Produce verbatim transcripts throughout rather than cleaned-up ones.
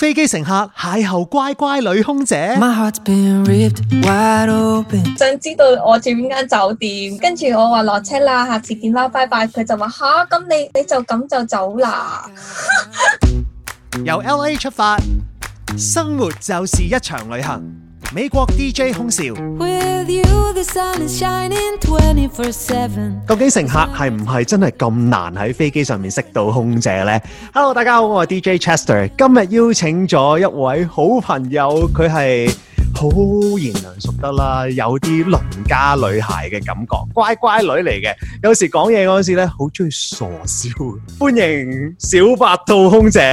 飛機乘客邂逅乖乖女空姐。 My heart's been ripped wide open。 想知道我住邊間酒店，跟住我話落車啦，下次見啦，拜拜。佢就話吓，咁你你就咁就走啦。 由 L A 出發，生活就是一場旅行。美國 D J 空少 With you, the sun is shining twenty-four seven。 究竟乘客係唔係真係咁難喺飛機上面識到空姐呢？ Hello， 大家好，我係 D J Chester， 今日邀請咗一位好朋友，佢係好賢良淑德啦，有啲鄰家女孩嘅感覺，乖乖女嚟嘅。有時講嘢嗰陣時咧，好中意傻笑。歡迎小白兔空姐。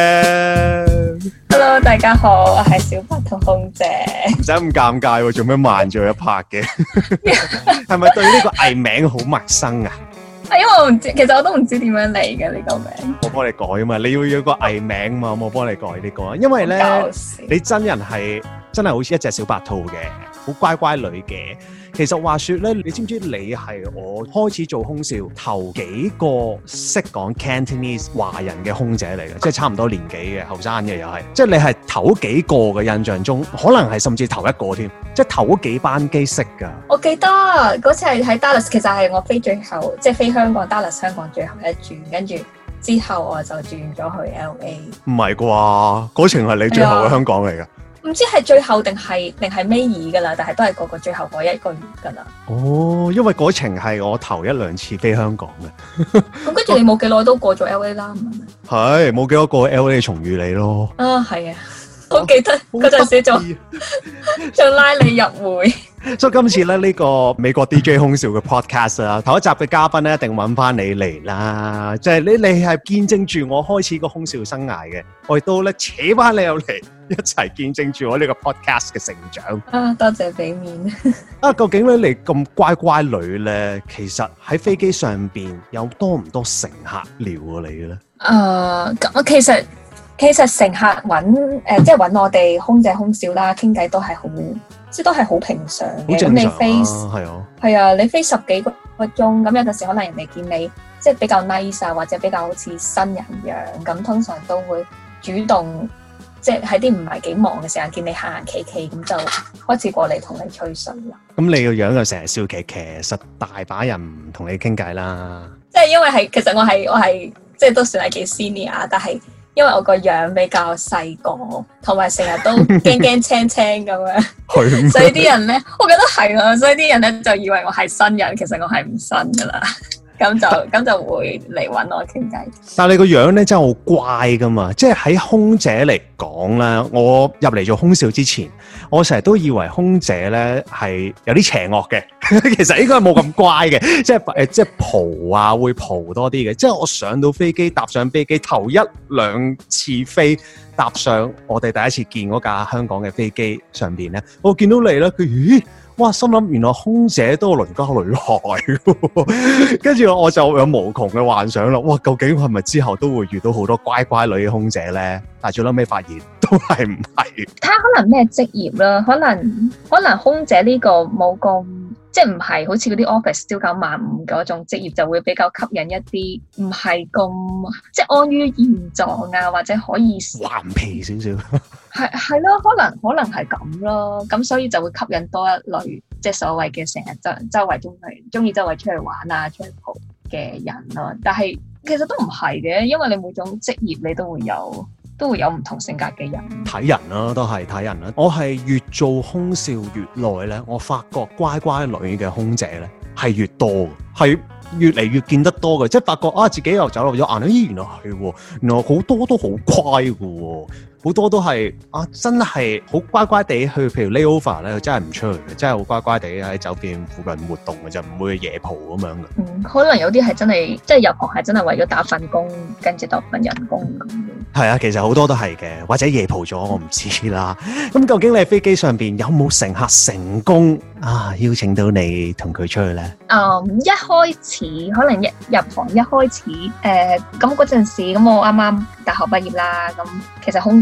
Hello， 大家好，我係小白兔空姐。 唔使咁尷尬喎，做咩慢咗一拍嘅？係咪對呢個藝名好陌生啊？ 啊，因為我唔知，其實我都唔知點樣嚟嘅呢個名。 我幫你改啊嘛，你要要個藝名嘛，我幫你改呢個。因為咧，你真人係真係好似一隻小白兔嘅，好乖乖女嘅。其實話說咧，你知唔知你係我開始做空少頭幾個識講 Cantonese 華人嘅空姐嚟嘅，即係差唔多年紀嘅後生嘅又係，即係你係頭幾個嘅印象中，可能係甚至頭一個添，即係頭幾班機識㗎。 我記得嗰次係喺 Dallas， 其實係我飛最後，即係飛香港 Dallas 香港最後一轉，跟住之後我就轉咗去 L A。唔係啩？嗰程係你最後嘅香港嚟㗎？ 唔知係最後定係定係尾二噶啦，但係都係個個最後嗰一個月噶啦。 哦，因為嗰程係我頭一兩次飛香港嘅。 咁跟住你冇幾耐都過咗 L A 啦，係咪？ 係冇幾多過 L A 重遇你咯。 啊，係啊，我記得嗰陣時仲仲拉你入會。 所以今次咧呢個美國 D J 空少嘅 podcast 啊，頭一集嘅嘉賓咧一定揾翻你嚟啦，即係你你係見證住我開始個空少生涯嘅，我亦都咧扯翻你入嚟一齊見證住我呢個 podcast 嘅成長。 啊，多謝俾面。 啊，究竟咧你咁乖乖女咧，其實喺飛機上邊有多唔多乘客撩過你嘅咧？ 誒，咁其實其實乘客揾誒，即係揾我哋空姐空少啦，傾偈都係好。即都係好平常嘅，咁你飛係啊， 係啊，你飛十幾個個鐘，咁有陣時可能人哋見你即係比較 nice 啊，或者比較好似新人樣，咁通常都會主動即係喺啲唔係幾忙嘅時間見你行行企企，咁就開始過嚟同你吹水啦。咁你個樣就成日笑騎騎，實大把人唔同你傾偈啦。 即係因為係其實我係我係即係都算係幾 senior， 但係因為我個樣比較細個，同埋成日都驚驚青青咁樣，所以啲人咧，我覺得係啊，所以啲人咧就以為我係新人，其實我係唔新噶啦，咁就咁就會嚟搵我傾偈。但係你個樣咧真係好乖噶嘛，即係喺空姐嚟講咧，我入嚟做空少之前，我成日都以為空姐咧係有啲邪惡嘅，其實應該係冇咁乖嘅，即係誒，即係蒲啊，會蒲多啲嘅。即係我上到飛機，搭上飛機頭一兩次飛，搭上我哋第一次見嗰架香港嘅飛機上邊咧，我見到你咧，佢咦？哇！心諗原來空姐都係鄰家女孩，跟住我就有無窮嘅幻想啦。哇！究竟係咪之後都會遇到好多乖乖女嘅空姐咧？但係最後尾發現都係唔係。睇下可能咩職業啦，可能可能空姐呢個冇咁即係唔係好似嗰啲 office 朝九晚五嗰種職業，就會比較吸引一啲唔係咁即係安於現狀啊，或者可以頑皮少少。 係係咯，可能可能係咁咯，咁所以就會吸引多一類，即係所謂嘅成日周周圍中去中意周圍出去玩啊、出去蒲嘅人咯。但係其實都唔係嘅，因為你每種職業你都會有都會有唔同性格嘅人。睇人啦，都係睇人啦。我係越做空少越耐咧，我發覺乖乖女嘅空姐咧係越多，係越嚟越見得多嘅，即係發覺啊自己又走漏咗眼，咦原來係喎，原來好多都好乖嘅喎。好多都係啊，真係好乖乖地去，譬如 layover 咧，佢真係唔出去嘅，真係好乖乖地喺酒店附近活動嘅，就唔會夜蒲咁樣嘅。嗯，可能有啲係真係，即係入行係真係為咗打份工，跟住得份人工咁。係啊，其實好多都係嘅，或者夜蒲咗，我唔知啦。咁究竟你喺飛機上邊有冇乘客成功啊邀請到你同佢出去咧？嗯，一開始可能一入行一開始，誒咁嗰陣時，咁我啱啱大學畢業啦，咁其實空姐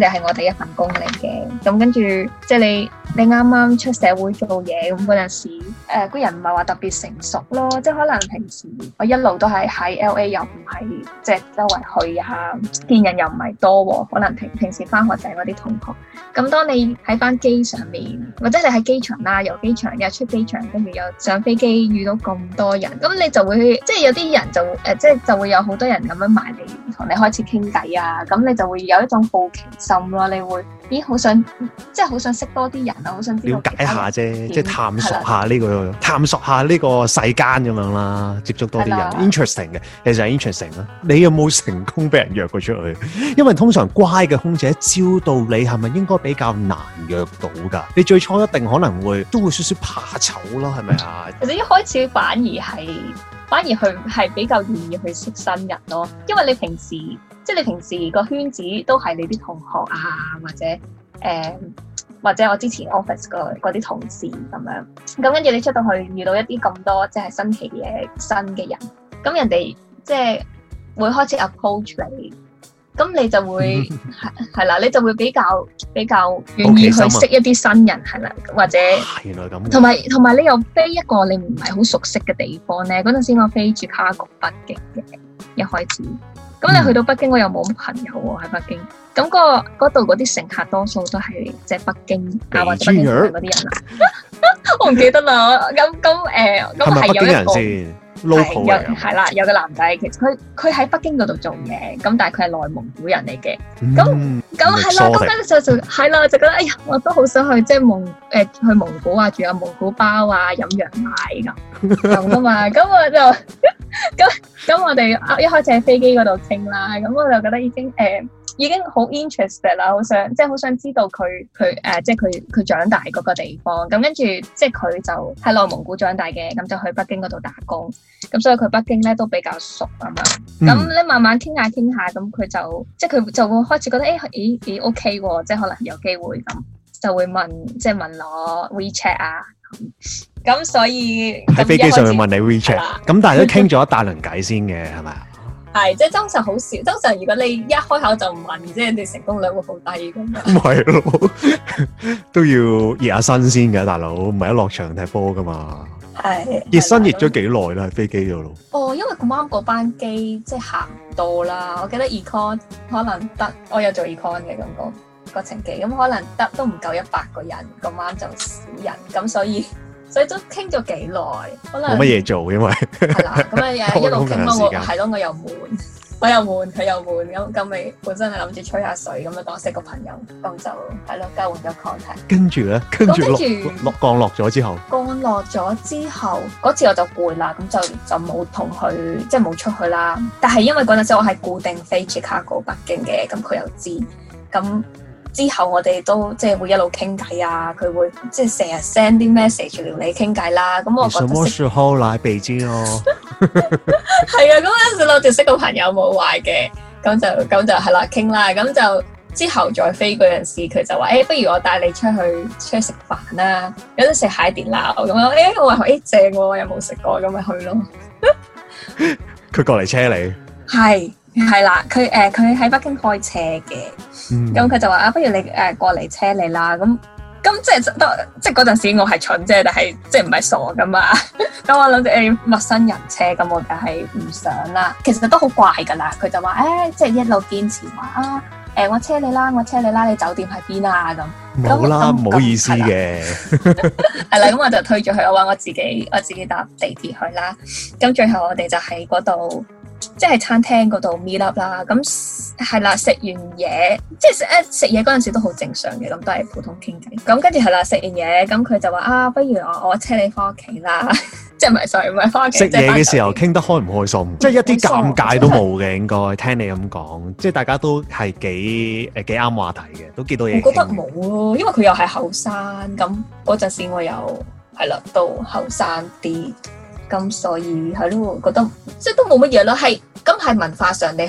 實係我哋一份工嚟嘅。咁跟住即係你你啱啱出社會做嘢咁嗰陣時，誒、呃、個人唔係話特別成熟咯，即係可能平時我一路都係喺 L A 又唔係即係周圍去啊，見人又唔係多喎，可能平平時翻學就係嗰啲同學。咁當你喺翻機上面，或者你喺機場啦，由機場又出機場，跟住又上飛機遇到咁多人，咁你就會即係有啲人就誒、呃，即係就會有好多人咁樣埋嚟同你開始傾偈啊，咁你就會有一種好奇心咯，你會咦好想即係好想識多啲人啊，好想知道了解下啫，即係探索下呢、呢個探索下呢個世間咁樣啦，接觸多啲人 interesting 嘅，其實係 interesting 啦。你有冇成功俾人約過出去？因為通常乖嘅空姐招到你係咪應該比較難約到㗎？你最初一定可能會都會少少怕醜咯，係咪啊？ 其實一開始反而係反而去係比較願意去識新人咯，因為你平時即係你平時個圈子都係你啲同學啊，或者誒、呃、或者我之前 office 嗰啲同事咁樣，咁跟住你出到去遇到一啲咁多即係新奇嘅新嘅人，咁人哋即係會開始 approach 你。咁你就會係係啦，你就會比較比較願意去識一啲新人係啦，或者原來咁， 同埋同埋你又飛一個你唔係好熟悉嘅地方咧。嗰陣時我飛住卡局北京嘅一開始，咁你去到北京我又冇朋友喎喺北京，咁、嗰個嗰度嗰啲乘客多數都係即係北京啊或者北京嗰啲人啦，我唔記得啦。咁咁誒，咁係有一個。是係有係啦，有個男仔，其實佢佢喺北京嗰度做嘢，咁但係佢係內蒙古人嚟嘅，咁咁係啦，咁跟住就就係啦，就覺得哎呀，我都好想去即係蒙誒、呃、去蒙古啊，住下蒙古包啊，飲羊奶咁咁噶嘛，咁我就咁咁我哋一開始喺飛機嗰度傾啦，咁我就覺得已經誒。呃已經好 interested 啦，好想即係好想知道佢佢誒，即係佢佢長大嗰個地方。咁跟住即係佢就喺內蒙古長大嘅，咁就去北京嗰度打工。咁所以佢北京咧都比較熟咁樣。咁咧、嗯、慢慢傾下傾下，咁佢就即係佢就會開始覺得誒咦咦 OK 喎，即係可能有機會咁，就會問即係問我 WeChat 啊。咁所以喺飛機上面問你 WeChat， 咁但係都傾咗一大輪偈先嘅係咪啊？ 係，即係通常好少。通常如果你一開口就問，即係你成功率會好低咁樣。 唔係咯，都要熱下身先嘅，大佬唔係一落場踢波噶嘛。係熱身熱咗幾耐啦？喺飛機度咯。哦，因為咁啱嗰班機即係行唔到啦。我記得 econ 可能得，我有做 econ 嘅咁個個程機，咁可能得都唔夠一百個人，咁啱就少人，咁所以。所以都傾咗幾耐，可能冇乜嘢做，因為係啦，咁啊一路傾咯，我係咯，我又悶，我又悶，佢又悶，咁咁咪本身係諗住吹下水，咁啊當識個朋友，咁就係咯，交換咗 contact。跟住咧，跟住落落降落咗之後，降落咗之後，嗰次我就攰啦，咁就就冇同佢即係冇出去啦。但係因為嗰陣時我係固定飛 Chicago 北京嘅，咁佢又知咁。之後我哋都即係會一路傾偈啊，佢會即係成日 send 啲 message 撩你傾偈啦。咁我覺得什麼時候來北京哦？係啊，咁嗰陣時諗住識個朋友冇壞嘅，咁就咁就係啦，傾啦。咁就之後再飛嗰陣時，佢就話：誒、欸，不如我帶你出去出去食飯啦，有得食海底撈咁樣。誒、欸，我話誒、欸、正喎，我又冇食過，咁咪去咯。 佢過嚟車你？係。 係啦，佢誒佢喺北京開車嘅，咁佢、嗯、就話啊，不如你誒、呃、過嚟車你啦，咁咁即係都即係嗰陣時我係蠢啫，但係即係唔係傻噶嘛，咁我諗住誒陌生人車，咁我就係唔想啦。其實都好怪噶啦，佢就話誒、欸，即係一路堅持話啊，誒、呃、我車你啦，我車你啦，你酒店喺邊啊咁。 冇啦，唔好意思嘅。 係啦，咁我就推咗佢，我話我自己我自己搭地鐵去啦。咁最後我哋就喺嗰度。即係餐廳嗰度 meet up 啦，咁係啦，食完嘢，即係食誒食嘢嗰陣時都好正常嘅，咁都係普通傾偈。咁跟住係啦，食完嘢，咁佢就話啊，不如我我車你翻屋企啦，即係唔係 sorry 唔係翻屋企。食嘢嘅時候傾得開唔開心？即係一啲尷尬都冇嘅，應該聽你咁講，即係大家都係幾誒幾啱話題嘅，都幾多嘢。我覺得冇咯，因為佢又係後生，咁嗰陣時我又係啦，都後生啲。咁所以係咯，覺得即係都冇乜嘢咯，係咁係文化上你係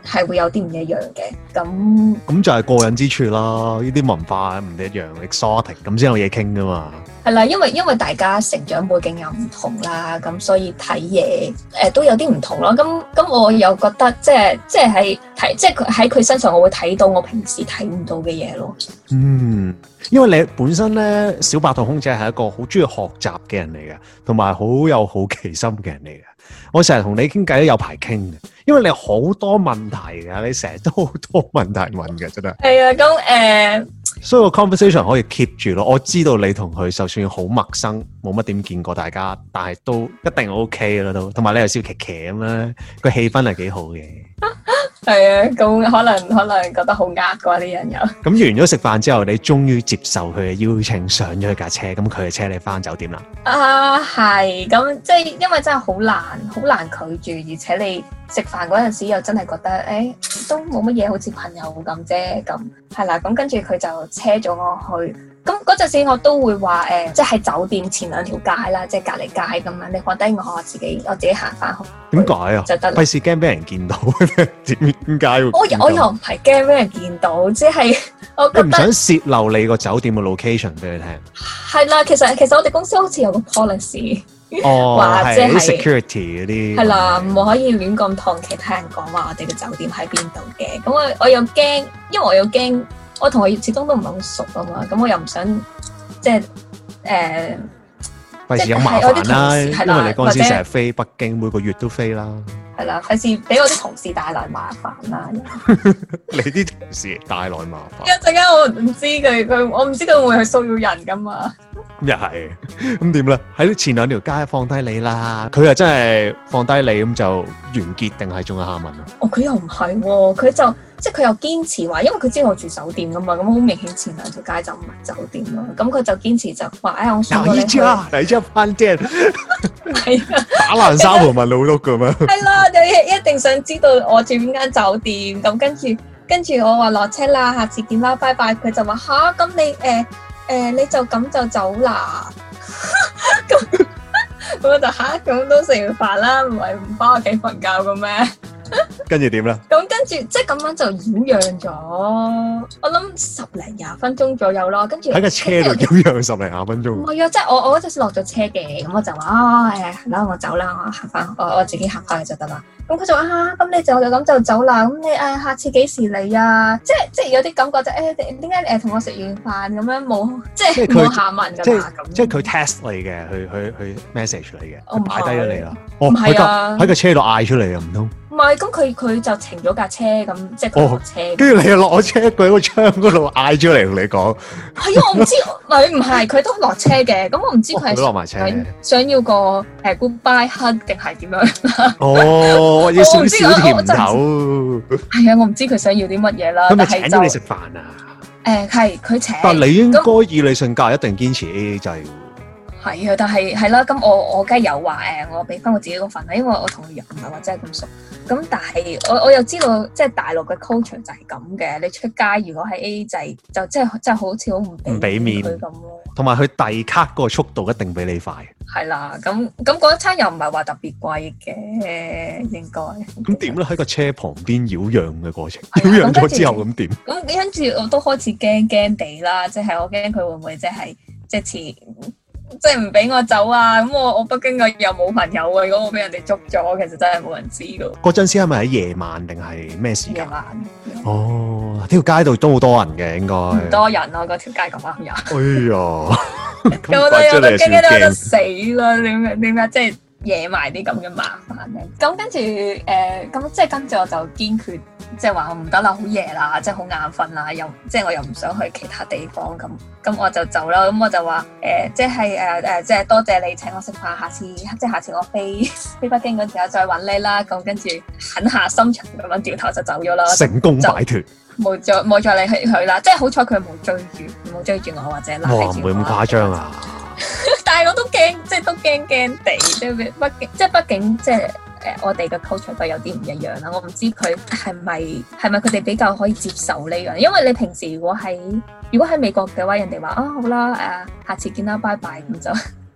係會有啲唔一樣嘅。咁咁就係過癮之處啦，呢啲文化唔一樣 exotic， 咁先有嘢傾噶嘛。 係啦，因為因為大家成長背景又唔同啦，咁所以睇嘢誒都有啲唔同咯。咁咁我又覺得即係即係喺睇即係佢喺佢身上，我會睇到我平時睇唔到嘅嘢咯。 嗯，因為你本身咧，小白兔空姐係一個好中意學習嘅人嚟嘅，同埋好有好奇心嘅人嚟嘅。我成日同你傾偈都有排傾嘅，因為你好多問題㗎，你成日都好多問題問嘅，真係。係啊， 咁誒， 所以個 conversation 可以 keep 住咯。我知道你同佢就算好陌生，冇乜點見過大家，但係都一定 OK 啦都。同埋你又笑騎騎咁啦，個氣氛係幾好嘅。 係啊，咁可能可能覺得好呃啩啲人又。咁完咗食飯之後，你終於接受佢嘅邀請，上咗架車，咁佢就車你翻酒店啦。 啊，係，咁即係因為真係好難，好難拒絕，而且你食飯嗰陣時又真係覺得，誒、欸，都冇乜嘢，好似朋友咁啫，咁係啦，咁跟住佢就車咗我去。咁嗰陣時我都會話誒、呃，即係喺酒店前兩條街啦，即係隔離街咁樣，你放低我，我自己我自己行翻去。 點解啊？ 就得啦。費事驚俾人見到，點點解會？ 我我又唔係驚俾人見到，即係我覺得你唔想泄漏你個酒店嘅 location 俾你聽。 係啦，其實其實我哋公司好似有個 policy， 哦， 或者係 security 嗰啲。係啦，唔可以亂咁同其他人講話我哋嘅酒店喺邊度嘅。咁我我又驚，因為我又驚。我同佢始終都唔係好熟啊嘛，咁我又唔想即係誒， 費事有麻煩啦。因為你嗰陣時成日飛北京，每個月都飛啦。係啦，費事俾我啲同事帶來麻煩啦。 你啲同事帶來麻煩。 一陣間我唔知佢佢，我唔知佢會唔會去騷擾人噶嘛。 又係，咁點咧？喺前兩條街放低你啦，佢又真係放低你咁就完結定係仲有下文啊？ 哦，佢又唔係喎，佢就即係佢又堅持話，因為佢知道我住酒店噶嘛，咁好明顯前兩條街就唔係酒店咯。咁佢就堅持就話，哎，我送過你去。 嚟一飯店， 係啊， 打爛沙盤問老碌咁樣。 係啦，就一一定想知道我住邊間酒店。咁跟住跟住我話落車啦，下次見啦，拜拜。佢就話吓，咁你誒。呃誒、呃，你就咁就走啦？咁咁我就吓，咁都食完飯啦，唔係唔翻屋企瞓覺嘅咩？ 跟住點咧？ 咁跟住即係咁樣就擾攘咗，我諗十零廿分鐘左右咯。跟住喺個車度擾攘十零廿分鐘。唔係啊，即係我我嗰陣時落咗車嘅，咁我就話啊，誒，係啦，我走啦，我行翻，我我自己行翻去就得啦。咁佢就話啊，咁你就就咁就走啦。咁你誒下次幾時嚟啊？即係即係有啲感覺就誒點解誒同我食完飯咁樣冇即係冇下文㗎啦咁。 即係佢 test 你嘅，去去去 message 你嘅，擺低咗你啦。 唔係啊， 喺個車度嗌出嚟啊，唔通？ 唔係，咁佢佢就停咗架車，咁即係佢落車。跟住你又落車，佢喺個窗嗰度嗌出嚟同你講。 係啊，我唔知，佢唔係，佢都落車嘅。咁我唔知佢係落埋車， 想要個誒 goodbye hug 定係點樣？ 哦，要少少甜頭。 係啊，我唔知佢想要啲乜嘢啦。 佢咪請咗你食飯啊？ 誒，係佢請。 但係你應該以你性格一定堅持 A A 制。 係啊，但係係啦，咁我我梗係有話誒，我俾翻我自己嗰份啦，因為我同佢又唔係話真係咁熟。咁但係我我又知道，即係大陸嘅 culture 就係咁嘅。你出街如果係 A A 制，就即係真係好似好唔唔俾面佢咁咯。同埋佢遞卡嗰個速度一定比你快。 係啦，咁咁嗰一餐又唔係話特別貴嘅，應該。 咁點咧？喺個車旁邊擾攘嘅過程，擾攘咗之後咁點？ 咁跟住我都開始驚驚地啦，即係我驚佢會唔會即係即係似。即係唔俾我走啊！咁我我北京嘅又冇朋友啊！如果我俾人哋捉咗，其實真係冇人知噶。嗰陣時係咪喺夜晚定係咩時間？ 夜晚。 哦，條街度都好多人嘅，應該。唔多人啊！嗰條街咁啱人。 哎呀！ 咁我都有得驚驚到死啦！點解點解即係惹埋啲咁嘅麻煩咧？咁跟住誒，咁即係跟住我就堅決。即係話唔得啦，好夜啦，即係好眼瞓啦，又即係我又唔想去其他地方咁，咁我就走啦。咁我就話誒、呃，即係誒誒，即係多謝你請我食飯，下次即係下次我飛飛北京嗰時候再揾你啦。咁跟住狠下心腸咁樣掉頭就走咗啦， 成功擺脫， 冇再冇再理佢啦。即係好彩佢冇追住冇追住我或者拉住我。 哇，唔會咁誇張啊！ 但係我都驚，即係都驚驚地，即係畢竟即係畢竟即係。誒，我哋嘅 culture 都有啲唔一樣啦。我唔知佢係咪係咪佢哋比較可以接受呢樣，因為你平時如果喺如果喺美國嘅話，人哋話啊好啦，誒下次見啦，拜拜咁就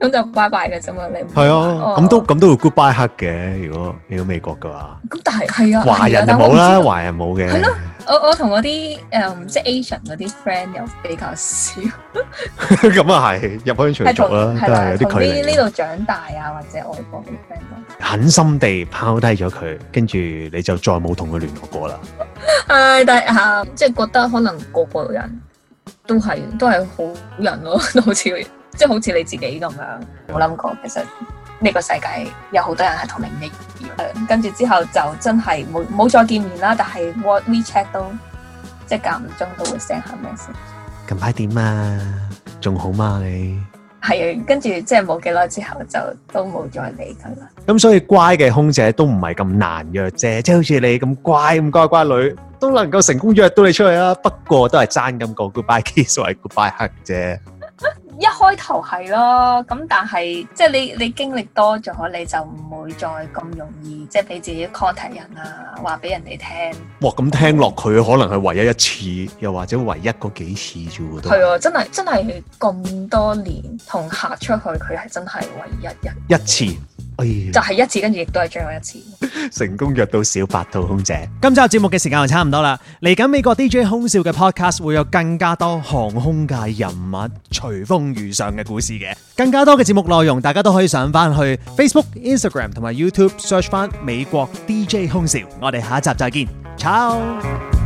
咁就拜拜嘅啫嘛，你係啊，咁、哦、都咁都會 goodbye hug 嘅。如果你到美國嘅話， 咁但係係啊， 華人就冇啦，華人冇嘅。 係咯，我我同嗰啲誒即係 Asian 嗰啲 friend 又比較少。 咁啊係入鄉隨俗啦，都係有啲距離。 呢度長大啊，或者外國啲 friend 狠心地拋低咗佢，跟住你就再冇同佢聯絡過啦。 誒，但係嚇，即係覺得可能個個人都係都係好人咯，都好似即係好似你自己咁樣。冇諗過其實呢個世界有好多人係同你一樣，跟住之後就真係冇冇再見面啦。但係 WeChat 都即係間唔中都會 send 下 message。 近排點啊？仲好嗎你？ 係啊，跟住即係冇幾耐之後就都冇再理佢啦。 咁所以乖嘅空姐都唔係咁難約啫，即係好似你咁乖咁乖乖女都能夠成功約到你出去啦。不過都係爭咁個 goodbye kiss 或者 goodbye hug 啫。 一開頭係咯，咁但係即係你你經歷多咗，你就唔會再咁容易即係俾自己 contact 人啊，話俾人哋聽。哇， 咁聽落佢可能係唯一一次，又或者唯一嗰幾次啫喎。 係啊，真係真係咁多年同客出去，佢係真係唯一一一次。哎、 就係、是、一次，跟住亦都係最後一次成功約到小白兔空姐。今集節目嘅時間就差唔多啦，嚟緊美國 D J 空少嘅 podcast 會有更加多航空界人物隨風遇上嘅故事嘅，更加多嘅節目內容大家都可以上翻去 Facebook、Instagram 同埋 YouTube search 翻美國 D J 空少。我哋下一集再見，ciao。